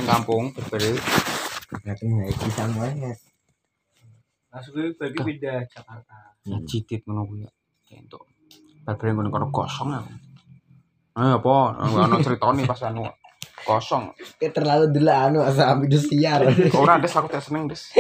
kampung berbeda. Katanya iki sampean. Langsung bagi pindah Jakarta. Cidit ngono kuwi. Entuk. Barbare ngono kosong aku. Apa? Ono critane pas anu kosong. Kayak terlalu dulu sampai siar. Ora des aku tak seneng des.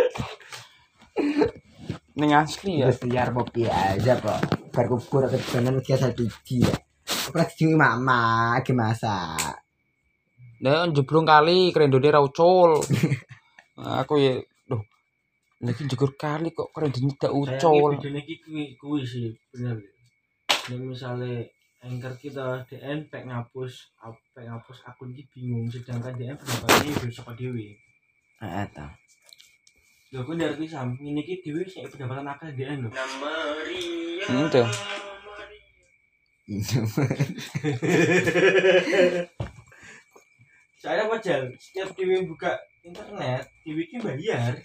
Ning asli ya. Siar kopi aja kok. Berkubur ke kanan biasa biji ya. Apa sih mama ke masak. Lah jebrong kali krendone ra ucul. Aku ya duh. Lagi jegur kali kok krendone tak ucul. Videone iki kuwi sih bener. Nek misale anchor kita DN pek ngapus akun iki bingung sedangkan DN pendapatannya udah saka dhewe. Heeh ta. Lho kok ngerti sam ngene iki dhewe sik pendapatan akeh DN lho. Itu. Saya wajar setiap dhewe buka internet, dhewe iki bayar.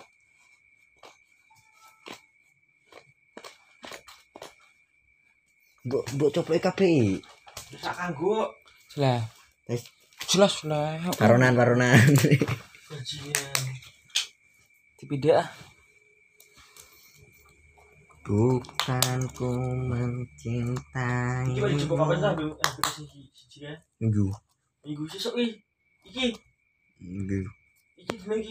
Mbok coplok kabeh. Terus sak kanggo Lah. Jelas lah. Baronan. gajian. Tidak. Bukan ku mencintai. Iki wis cukup kapan sampe aplikasi siji ya? Minggu. Minggu sesuk iki. Minggu. Iki dina iki